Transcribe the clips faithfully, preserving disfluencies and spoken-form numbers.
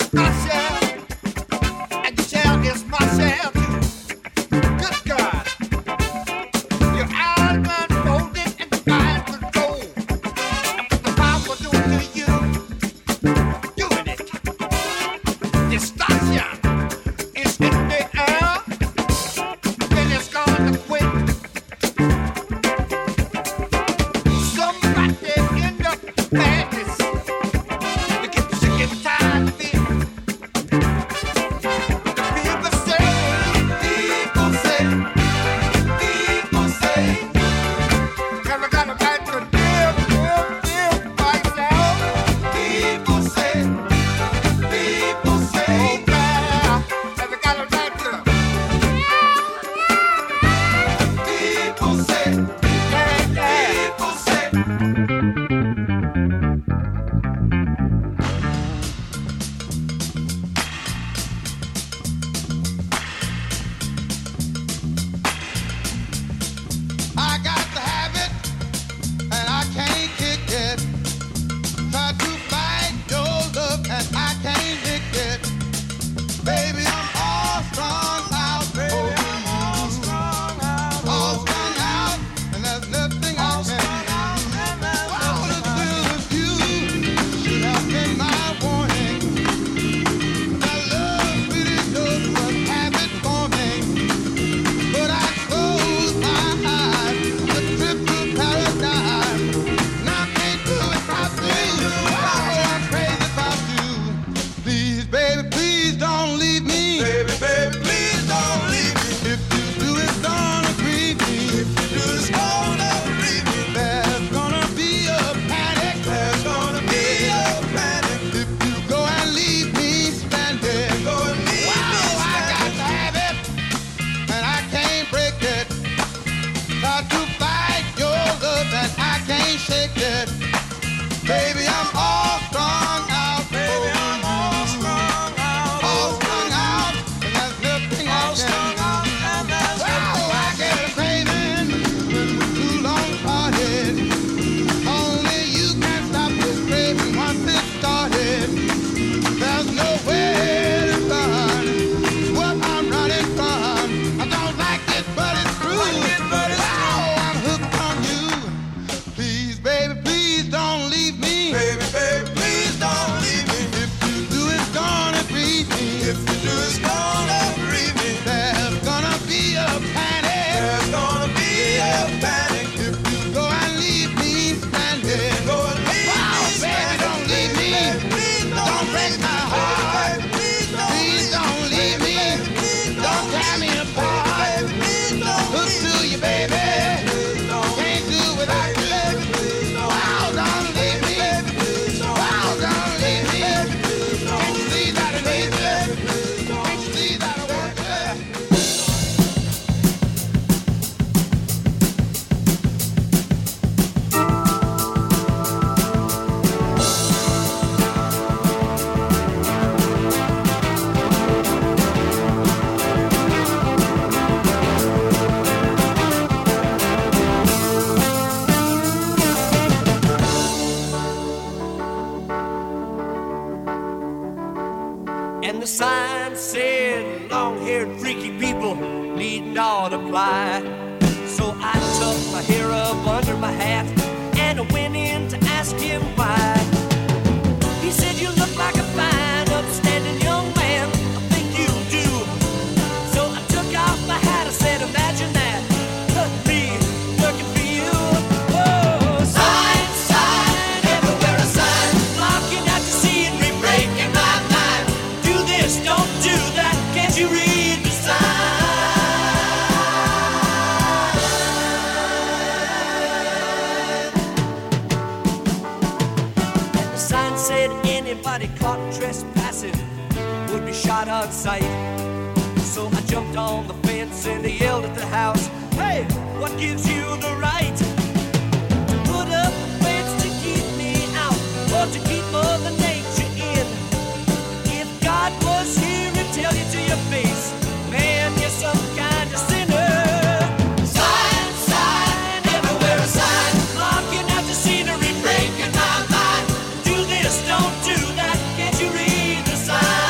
Don't do that, can't you read the sign?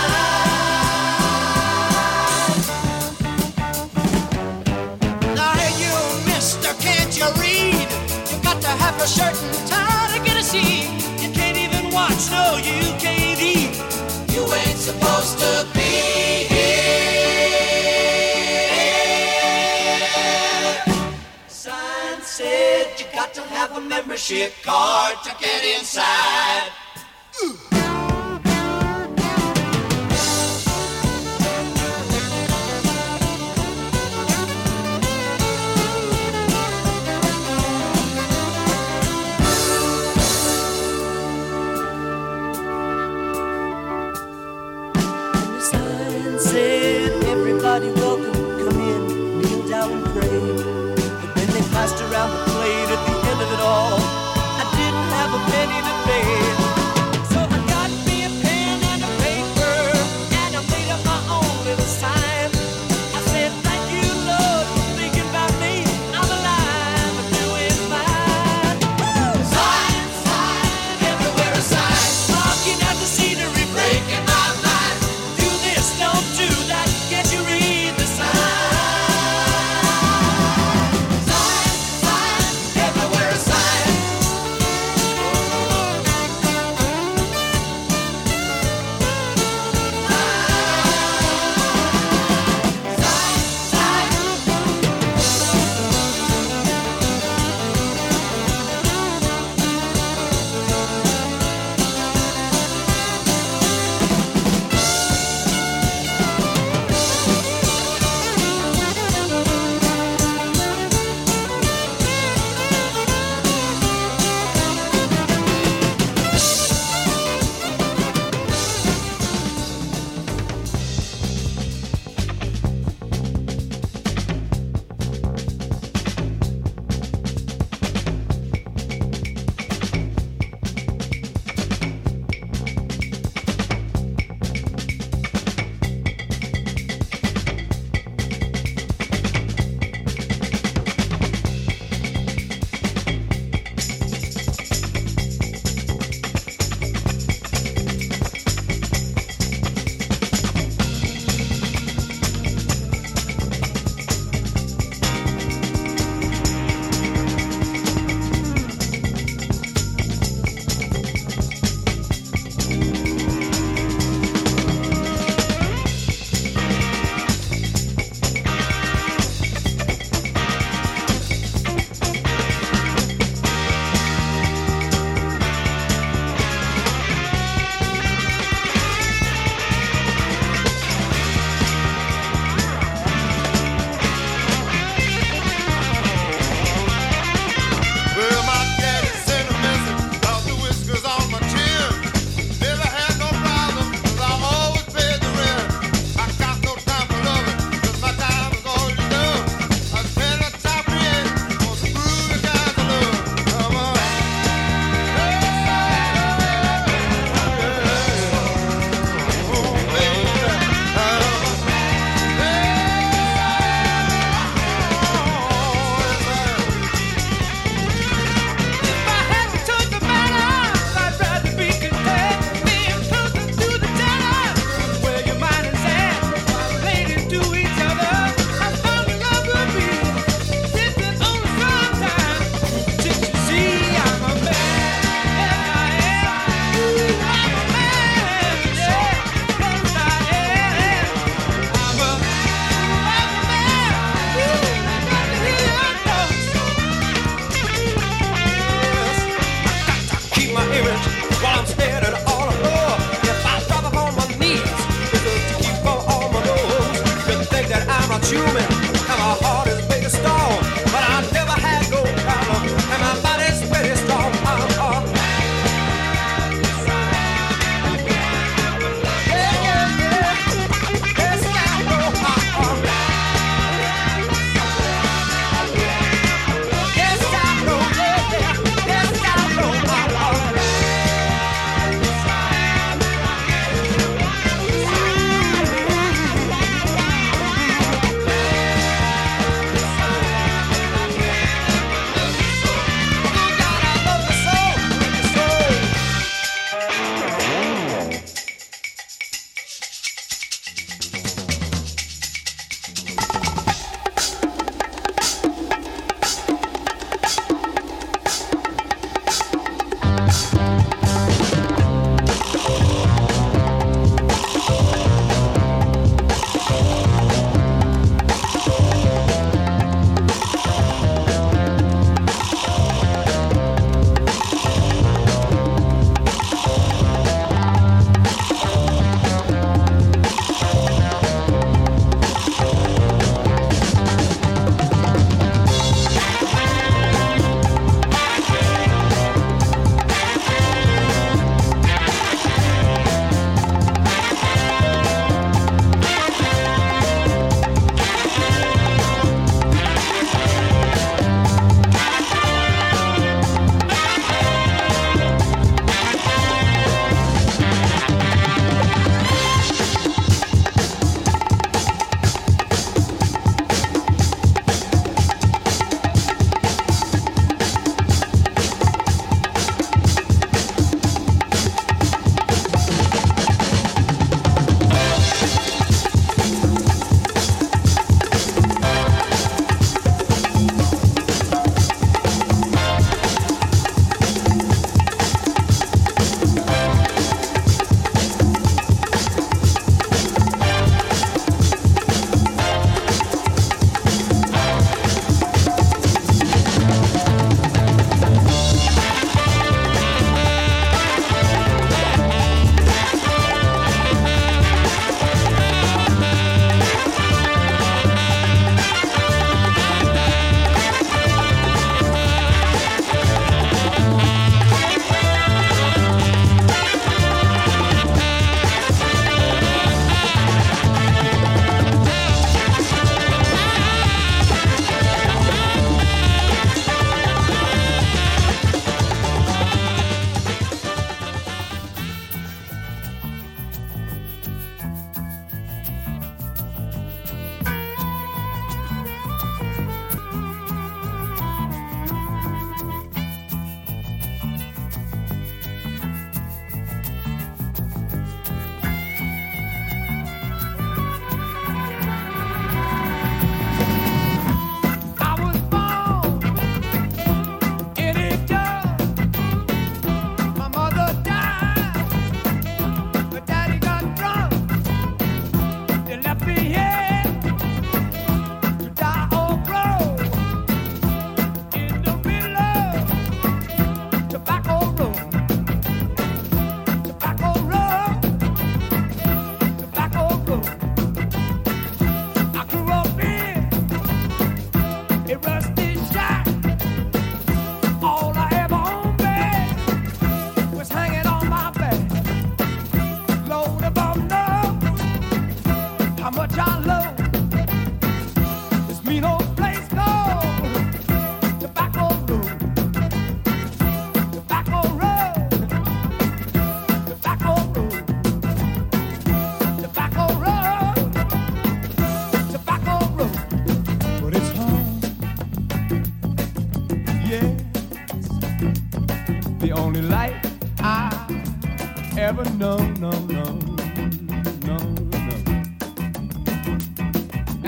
supposed to be here. Sign said you got to have a membership card to get inside. Ooh. Everybody welcome, come in, kneel down and pray. But when they passed around the plate at the end of it all, I didn't have a penny to pay. So I got me a pen and a paper, and I made up my own little sign. I said, thank you, Lord, for thinking about me. I'm alive and doing fine. Woo! Sign, sign, everywhere a sign. Barking at the scenery, breaking my mind. Do this, don't do that. Can't you read the sign? Sign, sign, everywhere a sign.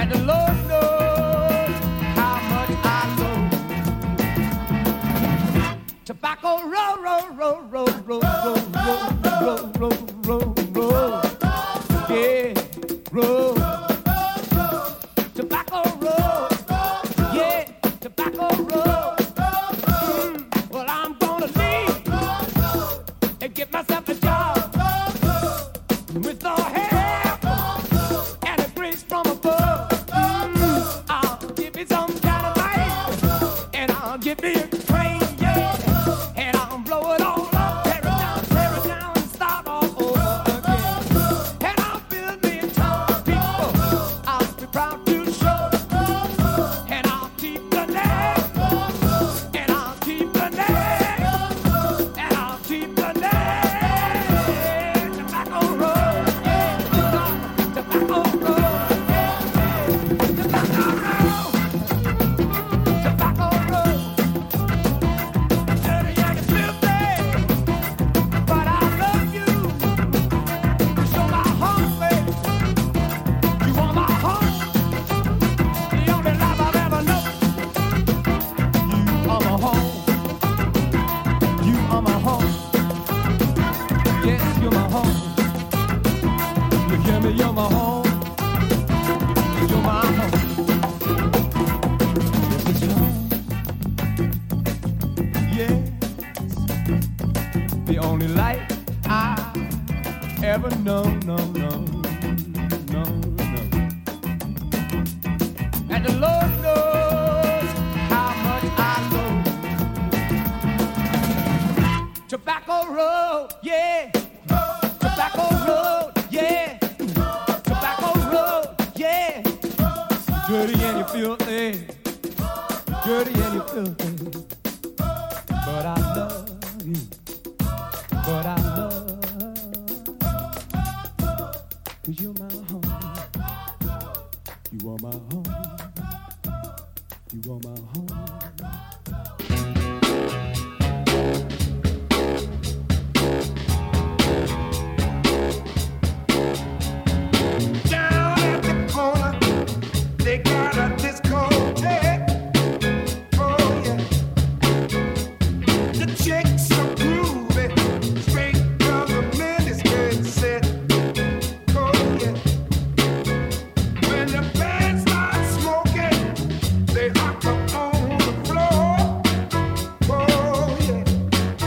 And the Lord knows how much I love tobacco. Roll, roll, roll, roll, roll, roll, roll, roll, roll, roll, yeah, roll. Tobacco roll, yeah, tobacco roll. Mm, well, I'm gonna leave and get myself a job with the help and a grace from above. Mm, I'll give me some dynamite and I'll give me a train, yeah, and I'll blow it all up, tear it down, tear it down, and start all over again. And I'll build me a town of people I'll be proud to show, and I'll keep the name, and I'll keep the name, and I'll keep the name. Tobacco roll, yeah, tobacco roll, yeah, tobacco roll, tobacco roll. Dirty and it's filthy, but I love you. You show my heart, baby. You are my heart, the only love I've ever known. You are my home. You are my home. Yes, you're my home. You hear me? You're my home. You're my home. Yes, it's your home. Yes, the only light I ever know, no, no, no, no. And the Lord knows how much I love tobacco roll, yeah, tobacco roll, yeah, tobacco roll, yeah. Dirty and you filthy, dirty and you filthy, but I love you, but I love, 'cause you're my home, you are my home, you are my home. Down at the corner, they got a discotheque. Oh yeah, the chicks are groovy, straight from the miniskirt set. Oh yeah, when the band starts smoking, they hop up on the floor. Oh yeah,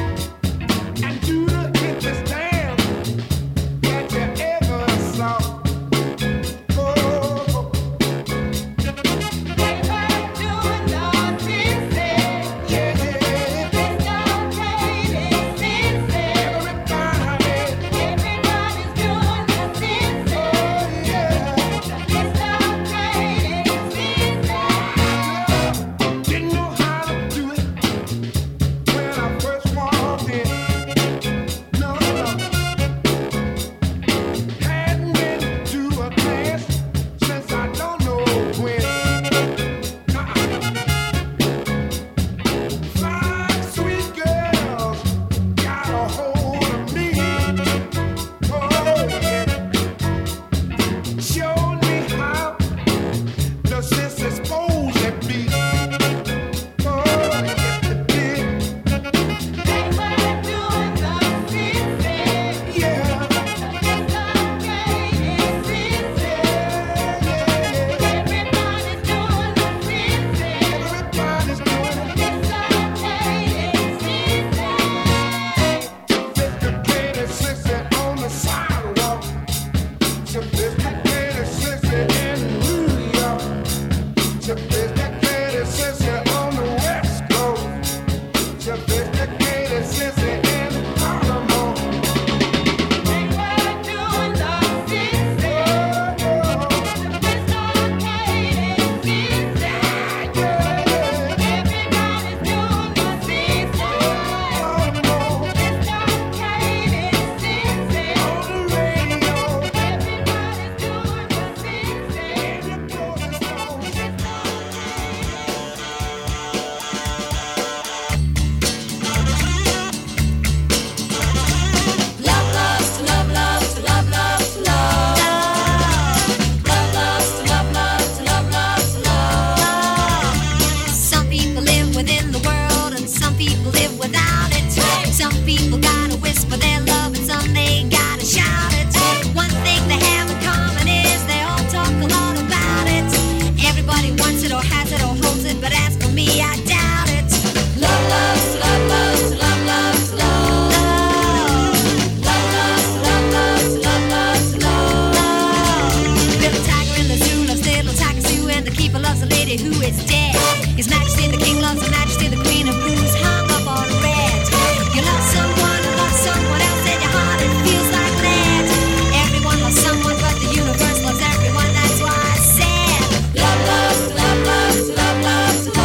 is dead. His Majesty the King loves Her Majesty the Queen of Blues, hung up on red. You love someone who loves someone else, and your heart it feels like lead. Everyone loves someone, but the universe loves everyone. That's why I said love, love, love, love, love, love, love.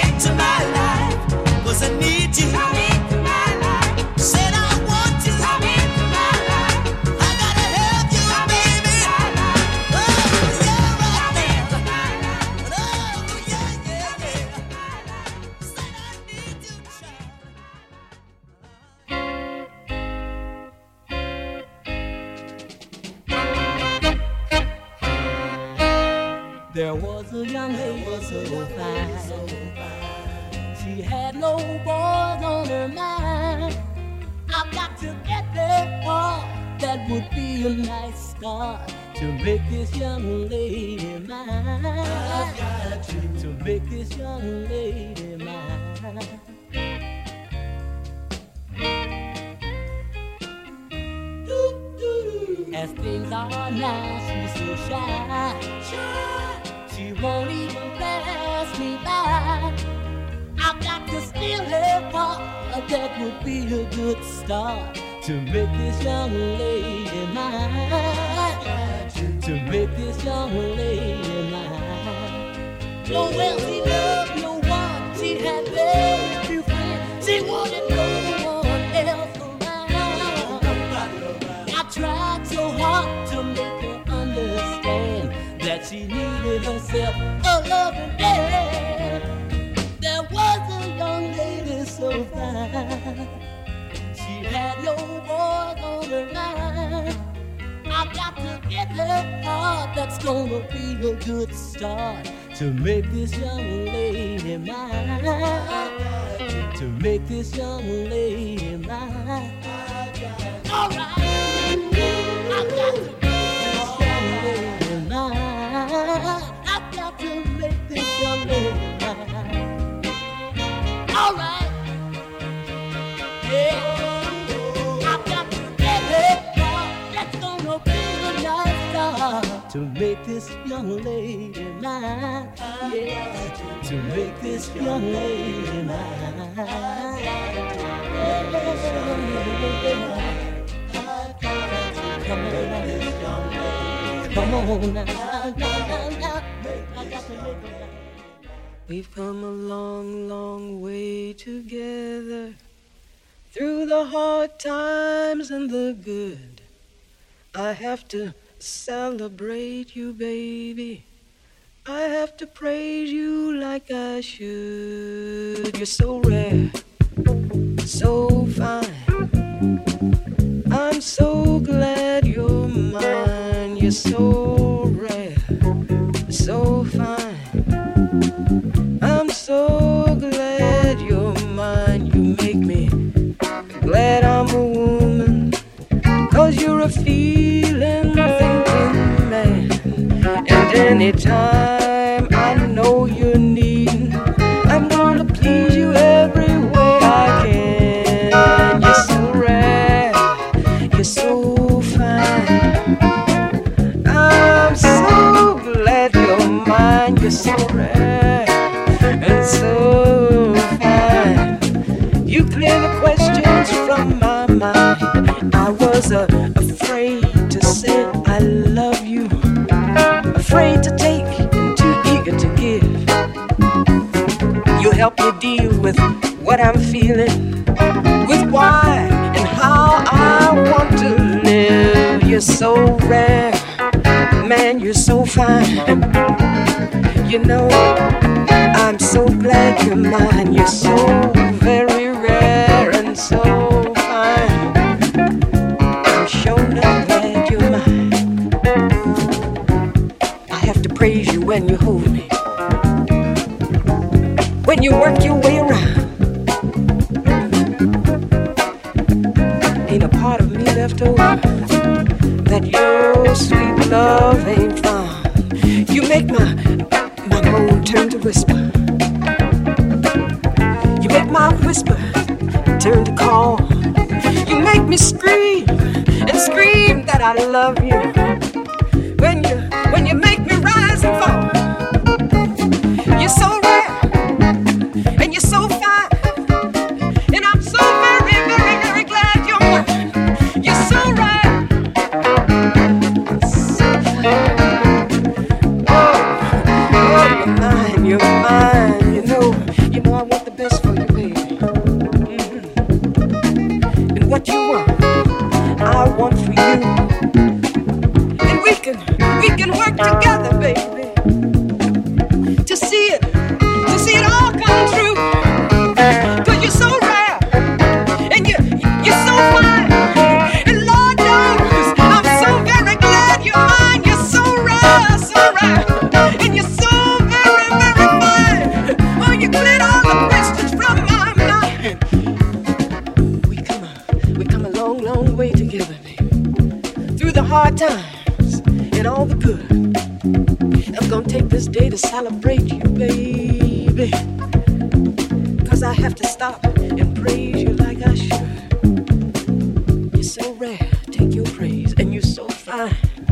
Said I want you. There was a young lady so fine. She had no boys on her mind. I've got to get that heart that would be a nice start to make this young lady mine. I've got to, to make this young lady mine. As things are now, she's so shy. She won't even pass me by. I've got to steal her heart. That would be a good start to make this young lady mine. To make this young lady mine. No wealthy love, no one. She had very few friends. She wanted no one else around. I tried so hard to make her understand that she needed herself a loving man. There was a young lady so fine. She had no boys on her mind. I've got to get her heart. That's gonna be a good start to make this young lady mine. To make this young lady mine. All right. I've got to make this young lady mine. I've got to make this young lady mine. All right. Yeah. I've got to get it. That's gonna be a nice start to make this young lady mine. Yeah. To make this young lady mine. Come on now. Come on now. I got to make it. We've come a long, long way together, through the hard times and the good. I have to celebrate you, baby. I have to praise you like I should. You're so rare, so fine. I'm so glad you're mine. You're so rare, so fine. I'm so glad you're mine. You make me glad I'm a woman, 'cause you're a feeling, thinking man. And anytime I know you're needing, I'm gonna please you every way I can. You're so rare, you're so fine. I'm so glad you're mine. You're so rare and so fine. You clear the questions from my mind. I was uh, afraid to say I love you, afraid to take and too eager to give. You help me deal with what I'm feeling, with why and how I want to live. You're so rare, man, you're so fine. You know, I'm so glad you're mine. You're so very rare and so fine. I'm sure not glad you're mine. I have to praise you when you hold me, when you work your way around. Ain't a part of me left over that your sweet love ain't found. You make my my moan turn to whisper. You make my whisper turn to call. You make me scream and scream that I love you. When you when you make me rise and fall. You're so rare and you're so fine, and I'm so very, very, very glad you're mine. You're so rare, so fine. Mine, you're mine, you know, you know I want the best for you, baby. Mm-hmm. And what you want, I want for you. And we can, we can work together, baby, to see it hard times and all the good. I'm gonna take this day to celebrate you, baby. Cause I have to stop and praise you like I should. You're so rare, take your praise, and you're so fine.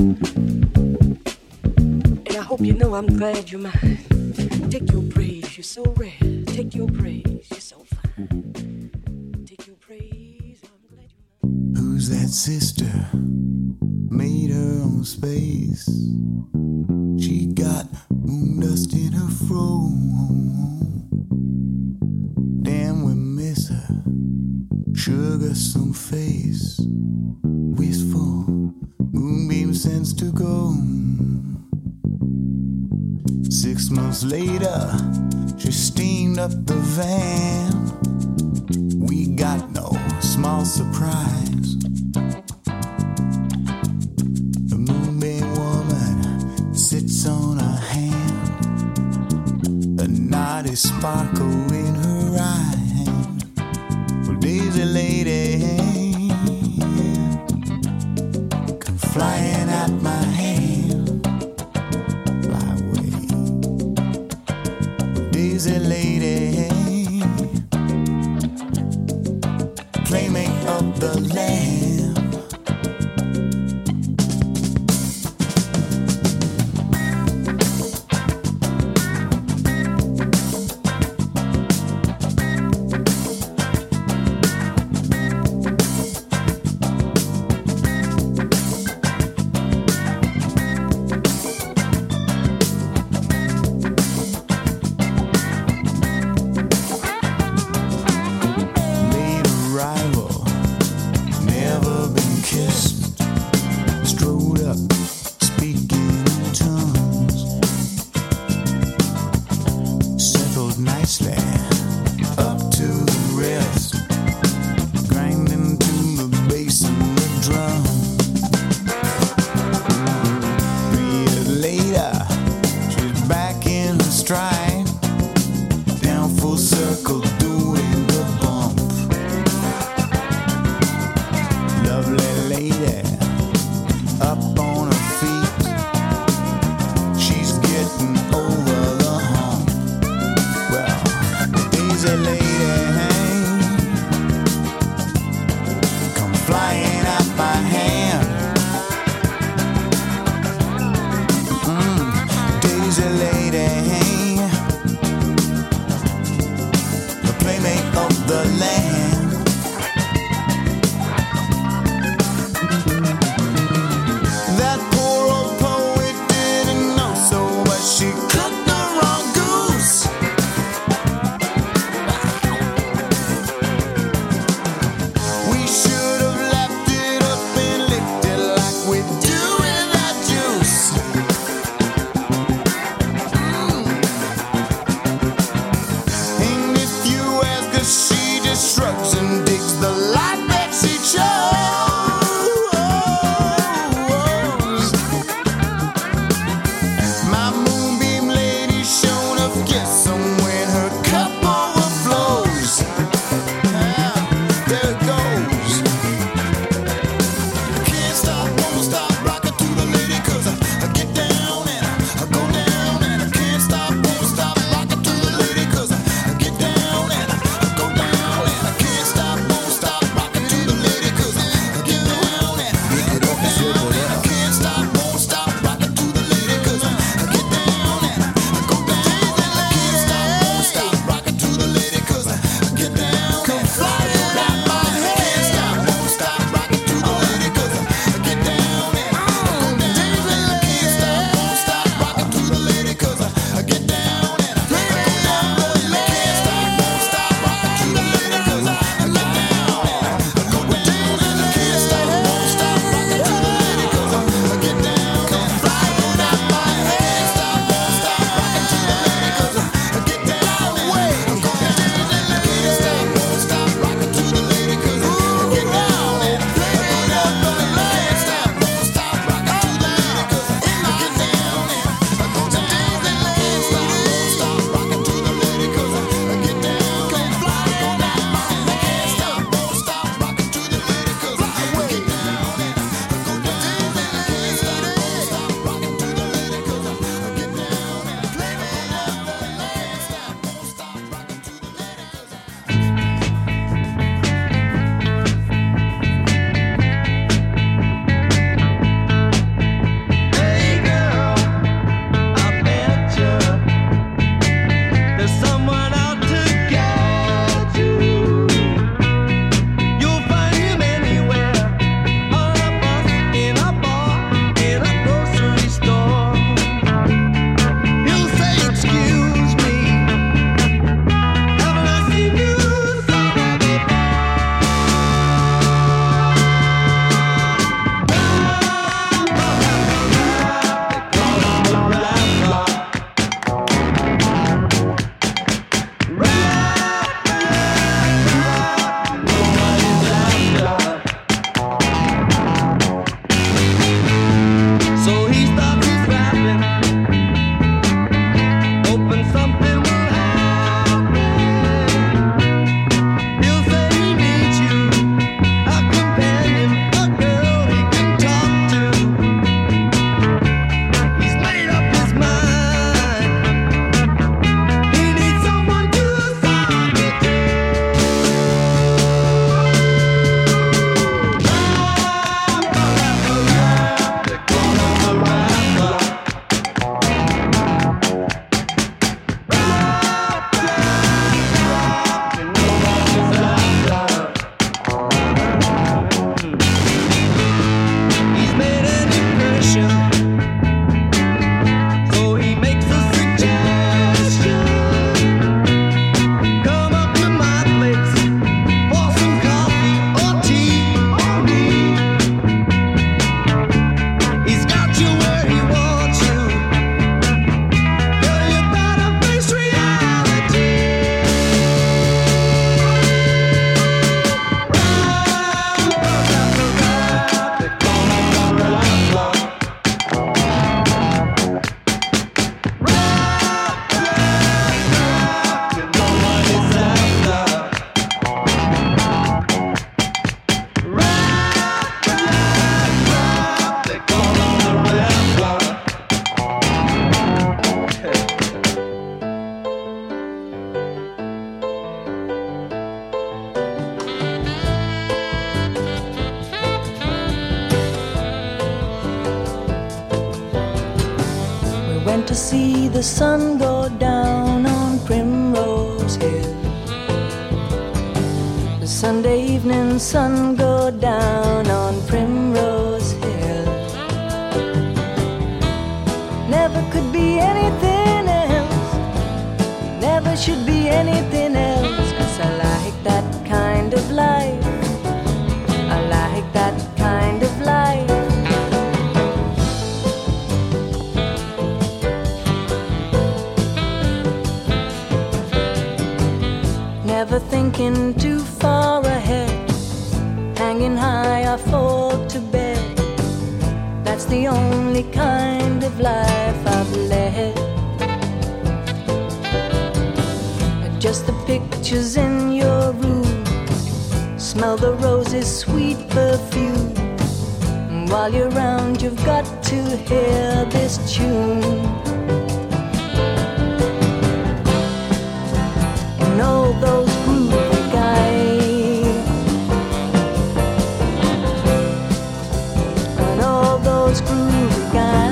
And I hope you know I'm glad you're mine. Take your praise, you're so rare. Take your praise, you're so fine. Take your praise, I'm glad you're mine. Who's that sister? Made her own space. She got moon dust in her fro. Damn, we miss her. Sugar some face. Wistful moonbeam sends to go. Six months later, she steamed up the van. We got no small surprise. The moonbeam woman sits on her hand. A naughty sparkle in her eye. Well, Daisy lady, come flying at my hand. Fly away. Daisy lady, playmate of the land. Cause went to see the sun go down on Primrose Hill. The Sunday evening sun go down on Primrose Hill. Never could be anything else, never should be anything else, 'cause I like that kind of life, I like that kind of life. Never thinking too far ahead, hanging high I fall to bed. That's the only kind of life I've led. Just the pictures in your room, smell the roses' sweet perfume. While you're around you've got to hear this tune. And all those groovy guys, and all those groovy guys.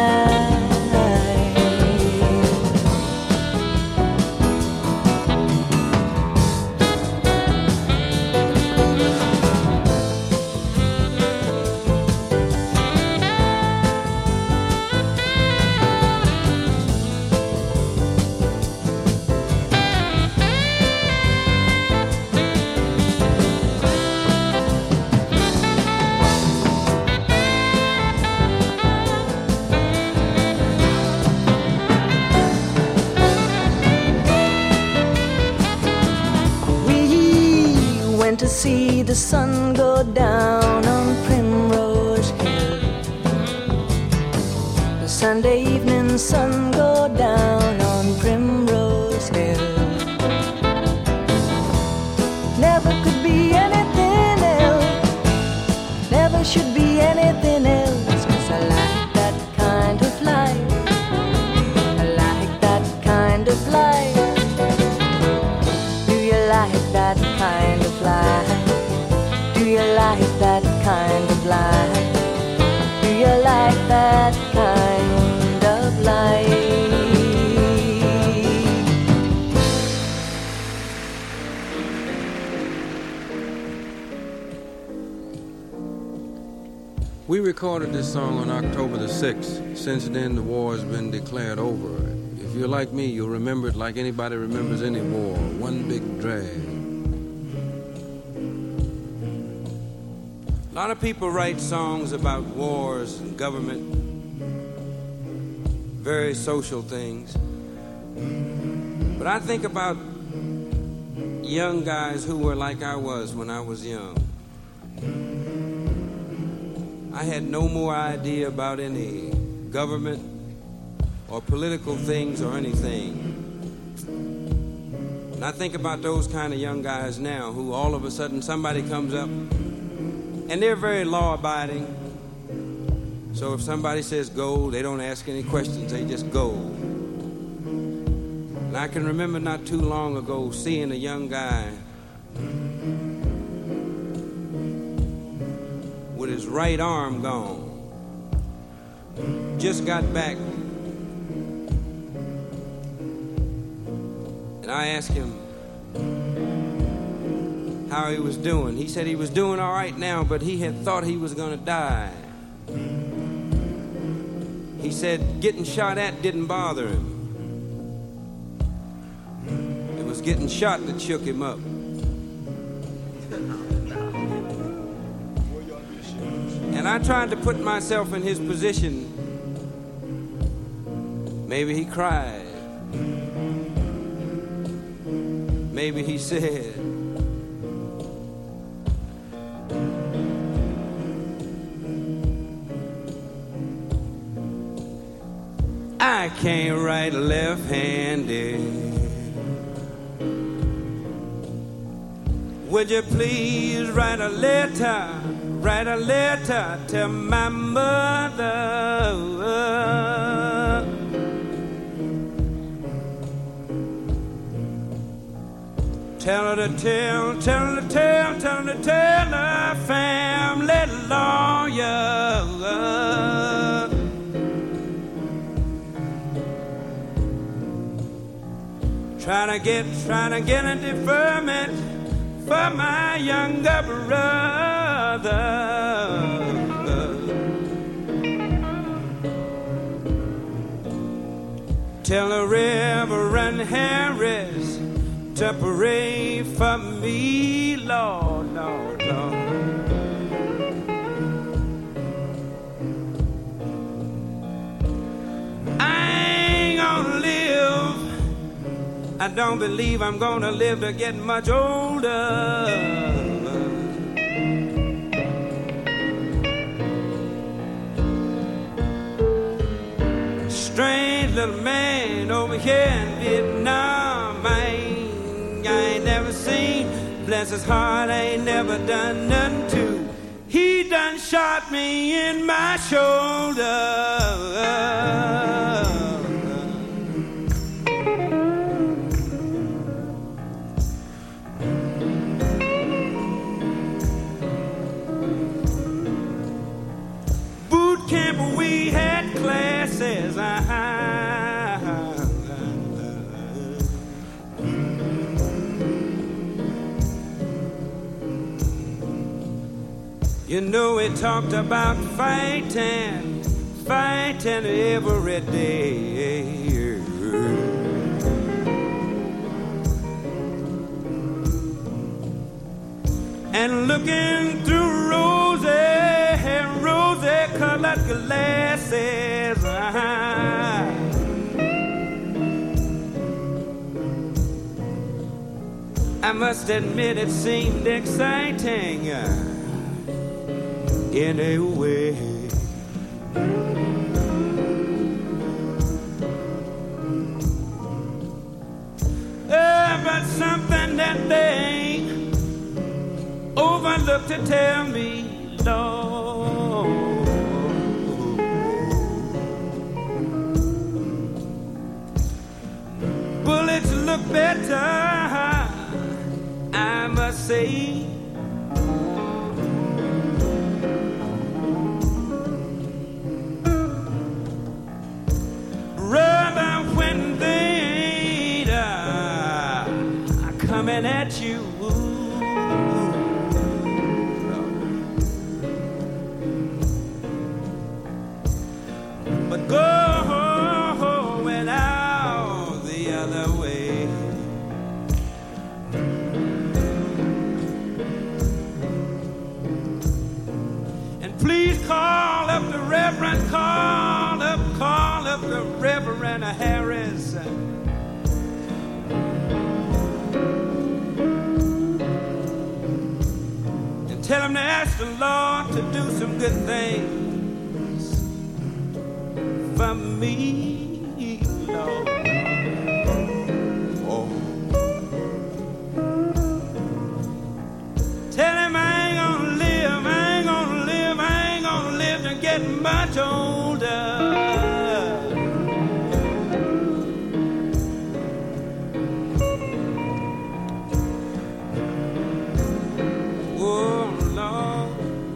To see the sun go down on Primrose Hill. The Sunday evening sun go down on Primrose Hill. Never could be anything else, never should be anything else, 'cause I like that kind of life, I like that kind of life. Do you like that kind of life? Do you like that kind of life? Do you like that kind of life? We recorded this song on October the sixth. Since then, the war has been declared over. If you're like me, you'll remember it like anybody remembers any war. One big drag. A lot of people write songs about wars and government, very social things. But I think about young guys who were like I was when I was young. I had no more idea about any government or political things or anything. And I think about those kind of young guys now who all of a sudden somebody comes up and they're very law-abiding. So if somebody says go, they don't ask any questions, they just go. And I can remember not too long ago seeing a young guy with his right arm gone. Just got back. And I asked him how he was doing. He said he was doing all right now, but he had thought he was going to die. He said getting shot at didn't bother him. It was getting shot that shook him up. And I tried to put myself in his position. Maybe he cried. Maybe he said, I can't write left-handed. Would you please write a letter, write a letter to my mother? Tell her to tell, tell her to tell, tell her to tell her family lawyer. Trying to get, trying to get a deferment for my younger brother. Tell the Reverend Harris to pray for me, Lord, Lord, Lord. I don't believe I'm gonna live to get much older. Strange little man over here in Vietnam, I ain't, I ain't never seen. Bless his heart, I ain't never done nothing to. He done shot me in my shoulder. We had classes, uh-huh. You know we talked about fighting, fighting every day. And looking through roses, rosy-colored glasses, uh-huh. I must admit it seemed exciting uh, in a way. Uh, but something that they overlooked to tell me, Lord. Bullets look better, I must say. Rather when they are coming at you. But going out the other way. And please call up the Reverend, call up, call up the Reverend Harris. And tell him to ask the Lord to do some good things for me, Lord. Oh. Tell him I ain't gonna live, I ain't gonna live, I ain't gonna live to get much older. Oh, Lord.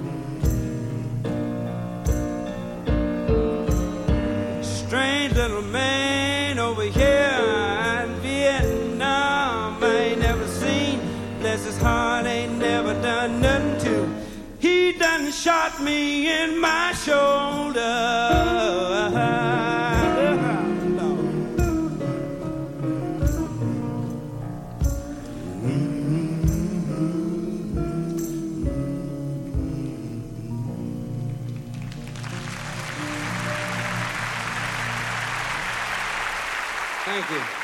Strange little man over here in Vietnam, I ain't never seen. Bless his heart, ain't never done nothing to. He done shot me in my shoulder. Thank you.